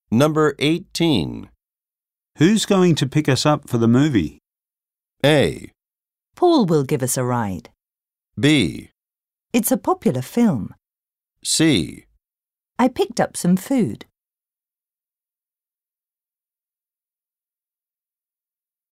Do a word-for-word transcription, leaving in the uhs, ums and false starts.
Number eighteen. Who's going to pick us up for the movie? A. Paul will give us a ride. B. It's a popular film. C. I picked up some food.